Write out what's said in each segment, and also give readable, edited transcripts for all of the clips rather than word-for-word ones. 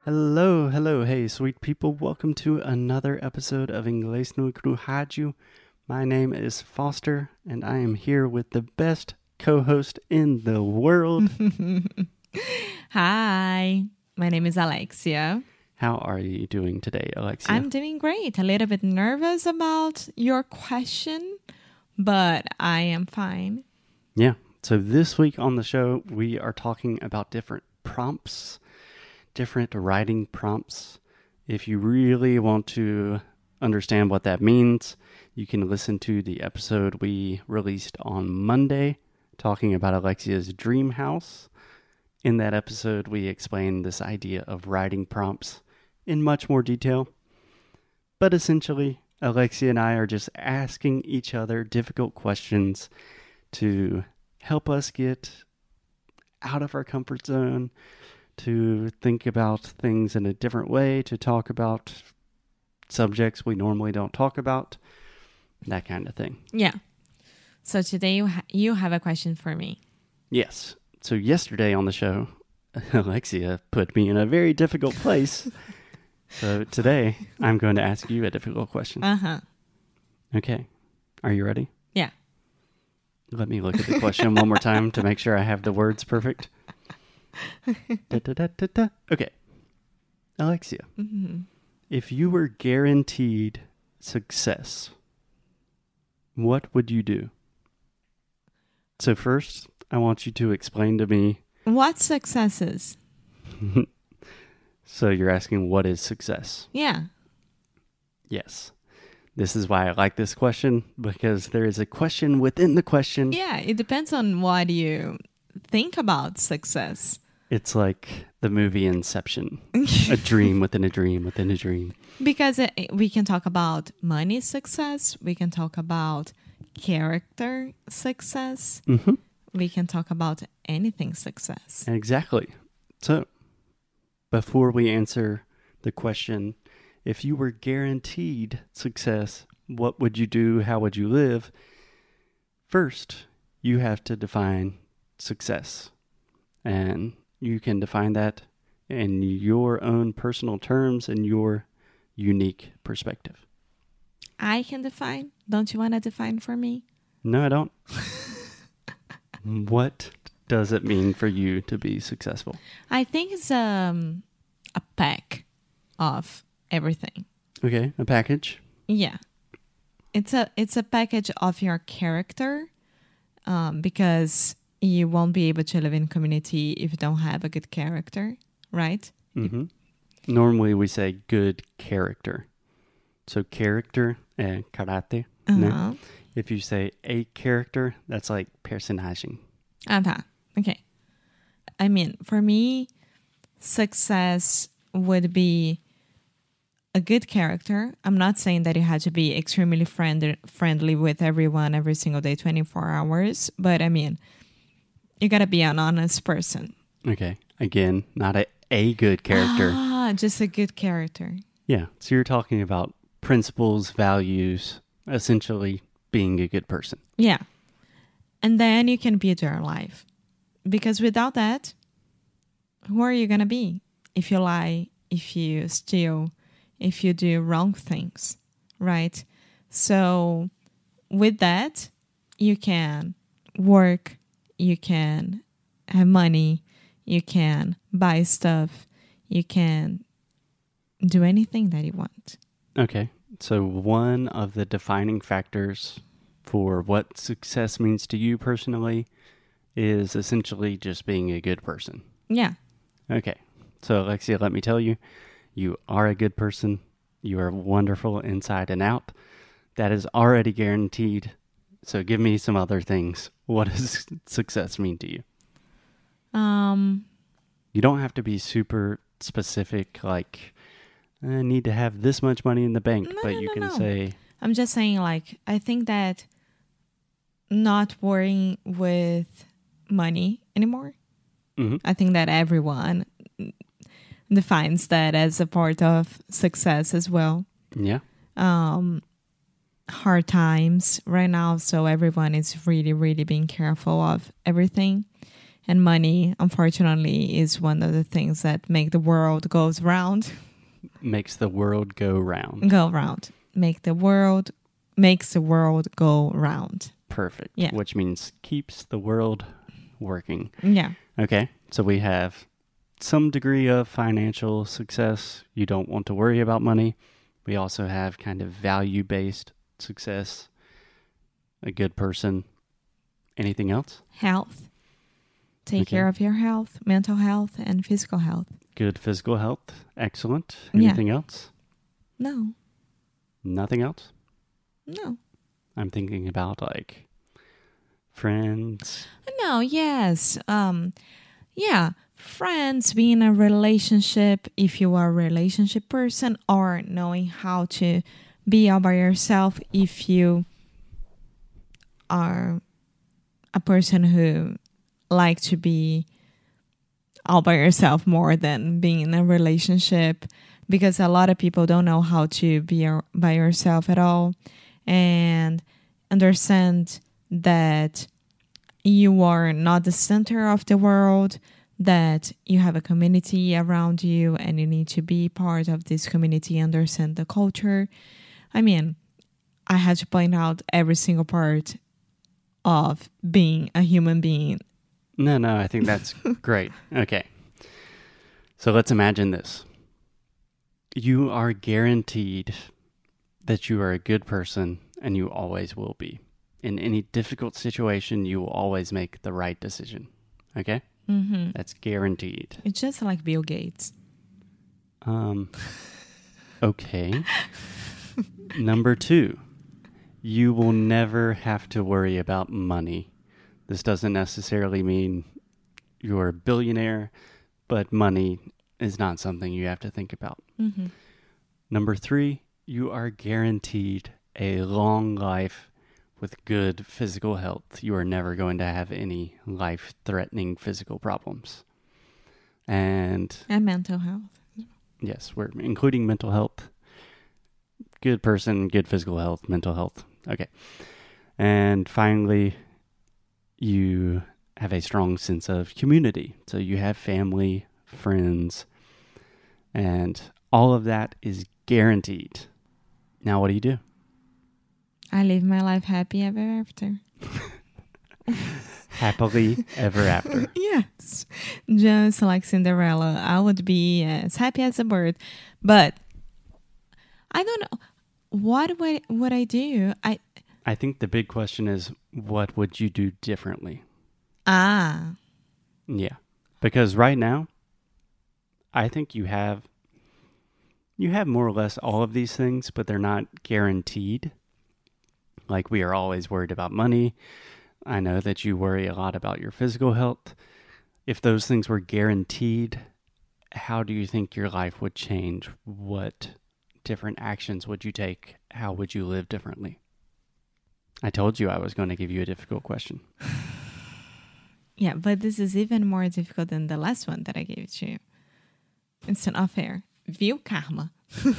Hello, hello, hey, sweet people. Welcome to another episode of Inglês no Rádio. My name is Foster, and I am here with the best co-host in the world. Hi, my name is Alexia. How are you doing today, Alexia? I'm doing great. A little bit nervous about your question, but I am fine. Yeah, so this week on the show, we are talking about different prompts, different writing prompts. If you really want to understand what that means, you can listen to the episode we released on Monday talking about Alexia's dream house. In that episode, we explained this idea of writing prompts in much more detail. But essentially, Alexia and I are just asking each other difficult questions to help us get out of our comfort zone, to think about things in a different way, to talk about subjects we normally don't talk about, that kind of thing. Yeah. So today you have a question for me. Yes. So yesterday on the show, Alexia put me in a very difficult place. So today, I'm going to ask you a difficult question. Uh-huh. Okay. Are you ready? Yeah. Let me look at the question one more time to make sure I have the words perfect. Okay. Alexia, if you were guaranteed success, what would you do? So first, I want you to explain to me. What successes? So you're asking, what is success? Yeah. Yes. This is why I like this question, because there is a question within the question. Yeah, it depends on what you think about success. It's like the movie Inception. A dream within a dream within a dream. Because we can talk about money success. We can talk about character success. Mm-hmm. We can talk about anything success. Exactly. So, before we answer the question, if you were guaranteed success, what would you do? How would you live? First, you have to define success. And you can define that in your own personal terms and your unique perspective. I can define. Don't you want to define for me? No, I don't. What does it mean for you to be successful? I think it's a pack of everything. Okay, a package. Yeah, it's a package of your character, because you won't be able to live in community if you don't have a good character, right? Mm-hmm. Normally we say good character. So character, karate. Uh-huh. If you say a character, that's like personagem. Okay. I mean, for me, success would be a good character. I'm not saying that you had to be extremely friendly with everyone every single day, 24 hours. But I mean, you got to be an honest person. Okay. Again, not a good character. Just a good character. Yeah. So you're talking about principles, values, essentially being a good person. Yeah. And then you can build your life. Because without that, who are you going to be? If you lie, if you steal, if you do wrong things, right? So with that, you can work, you can have money, you can buy stuff, you can do anything that you want. Okay. So one of the defining factors for what success means to you personally is essentially just being a good person. Yeah. Okay. So Alexia, let me tell you, you are a good person. You are wonderful inside and out. That is already guaranteed. So give me some other things. What does success mean to you? You don't have to be super specific, like, I need to have this much money in the bank, but you can say... I'm just saying, like, I think that not worrying with money anymore. Mm-hmm. I think that everyone defines that as a part of success as well. Yeah. Hard times right now, so everyone is really, really being careful of everything. And money, unfortunately, is one of the things that make the world goes round. Makes the world go round. Go round. Makes the world go round. Perfect. Yeah. Which means keeps the world working. Yeah. Okay. So we have some degree of financial success. You don't want to worry about money. We also have kind of value-based success. A good person. Anything else? Health. Take care of your health, mental health, and physical health. Good physical health. Excellent. Yeah. Anything else? No. Nothing else? No. I'm thinking about like friends. No, yes. Yeah. Friends, being in a relationship, if you are a relationship person, or knowing how to be all by yourself if you are a person who like to be all by yourself more than being in a relationship, because a lot of people don't know how to be by yourself at all and understand that you are not the center of the world, that you have a community around you and you need to be part of this community, understand the culture. I mean, I had to point out every single part of being a human being. No, I think that's great. Okay. So let's imagine this. You are guaranteed that you are a good person and you always will be. In any difficult situation, you will always make the right decision. Okay? Mm-hmm. That's guaranteed. It's just like Bill Gates. Okay. Number 2, you will never have to worry about money. This doesn't necessarily mean you're a billionaire, but money is not something you have to think about. Mm-hmm. Number 3, you are guaranteed a long life with good physical health. You are never going to have any life-threatening physical problems. And mental health. yes, we're including mental health. Good person, good physical health, mental health. Okay. And finally, you have a strong sense of community. So you have family, friends, and all of that is guaranteed. Now, what do? I live my life happy ever after. Happily ever after. Yes. Just like Cinderella, I would be as happy as a bird. But I don't know. What would I do? I think the big question is, what would you do differently? Yeah. Because right now, I think you have more or less all of these things, but they're not guaranteed. Like, we are always worried about money. I know that you worry a lot about your physical health. If those things were guaranteed, how do you think your life would change? What different actions would you take? How would you live differently? I told you I was going to give you a difficult question. Yeah, but this is even more difficult than the last one that I gave to you. It's not fair. Viu, karma?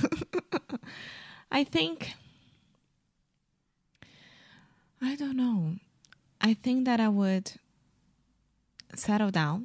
I think... I don't know. I think that I would settle down.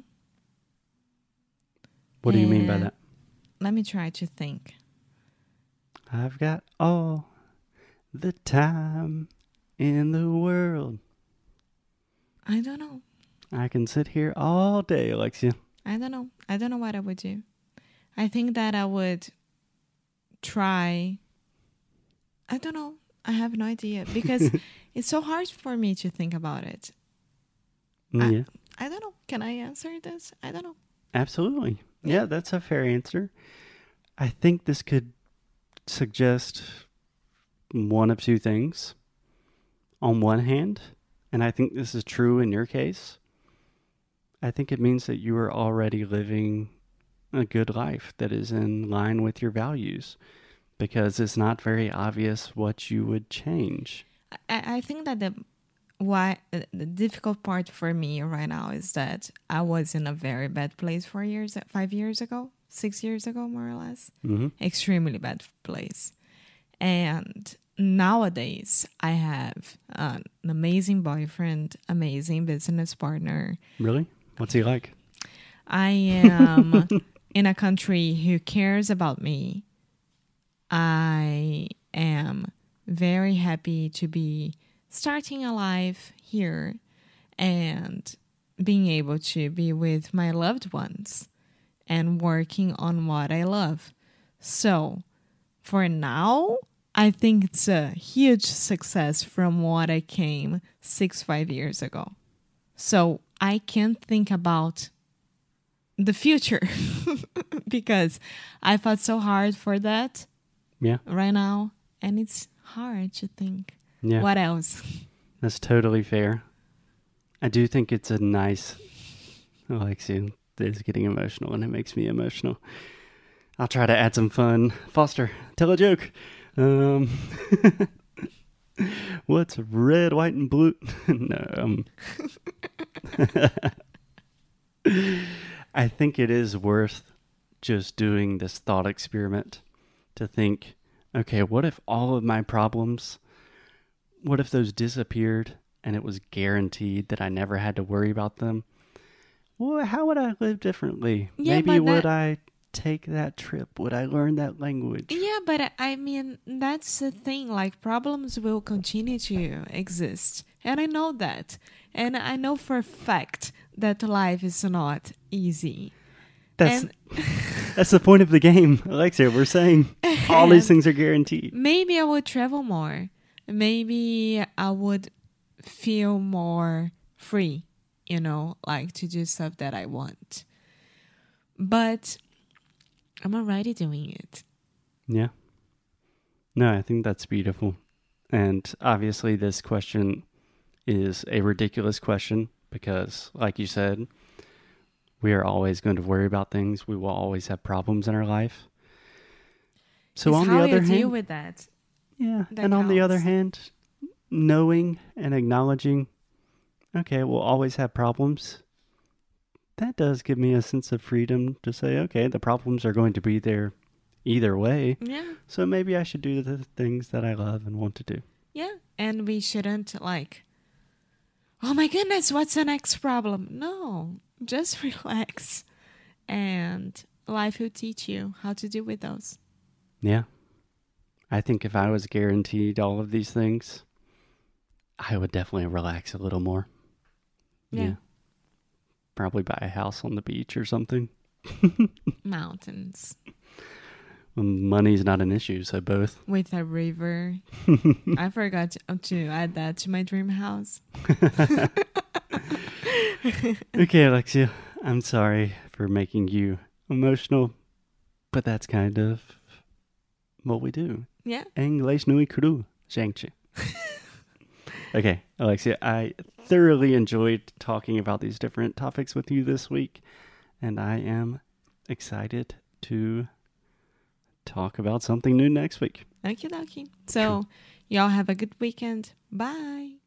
What do you mean by that? Let me try to think. I've got all the time in the world. I don't know. I can sit here all day, Alexia. I don't know. I don't know what I would do. I think that I would try... I don't know. I have no idea because it's so hard for me to think about it. Yeah. I don't know. Can I answer this? I don't know. Absolutely. Yeah, that's a fair answer. I think this could suggest one of two things. On one hand, and I think this is true in your case, I think it means that you are already living a good life that is in line with your values, because it's not very obvious what you would change. I think that the difficult part for me right now is that I was in a very bad place 5 years ago, 6 years ago, more or less. Mm-hmm. Extremely bad place. And nowadays I have an amazing boyfriend, amazing business partner. Really? What's he like? I am in a country who cares about me. I am very happy to be starting a life here and being able to be with my loved ones and working on what I love. So for now, I think it's a huge success from what I came 5 years ago. So I can't think about the future because I fought so hard for that Yeah. right now. And it's hard to think. Yeah. What else? That's totally fair. I do think it's a nice... Alexia is getting emotional and it makes me emotional. I'll try to add some fun. Foster, tell a joke. What's red, white, and blue? No. I think it is worth just doing this thought experiment to think, okay, what if all of my problems, what if those disappeared and it was guaranteed that I never had to worry about them? Well, how would I live differently? Yeah, Maybe but would I take that trip? Would I learn that language? Yeah, but I mean, that's the thing. Like, problems will continue to exist. And I know that. And I know for a fact that life is not easy. That's And that's the point of the game, Alexia. We're saying all these things are guaranteed. maybe I would travel more. Maybe I would feel more free, you know, like to do stuff that I want. But I'm already doing it. Yeah. No, I think that's beautiful. And obviously this question is a ridiculous question because, like you said, we are always going to worry about things. We will always have problems in our life. So It's on how the other you deal hand, with that. yeah, that and on the other counts. hand, knowing and acknowledging, okay, we'll always have problems. That does give me a sense of freedom to say, okay, the problems are going to be there either way. Yeah. So maybe I should do the things that I love and want to do. Yeah. And we shouldn't like, oh my goodness, what's the next problem? No, just relax. And life will teach you how to deal with those. Yeah. I think if I was guaranteed all of these things, I would definitely relax a little more. Yeah. Probably buy a house on the beach or something. Mountains Money's not an issue, so both. with a river. I forgot to add that to my dream house. Okay, Alexia, I'm sorry for making you emotional, but that's kind of what we do. Yeah. English nui kuru, Shang-Chi. Okay, Alexia, I thoroughly enjoyed talking about these different topics with you this week, and I am excited to talk about something new next week. Okie dokie. So, y'all have a good weekend. Bye.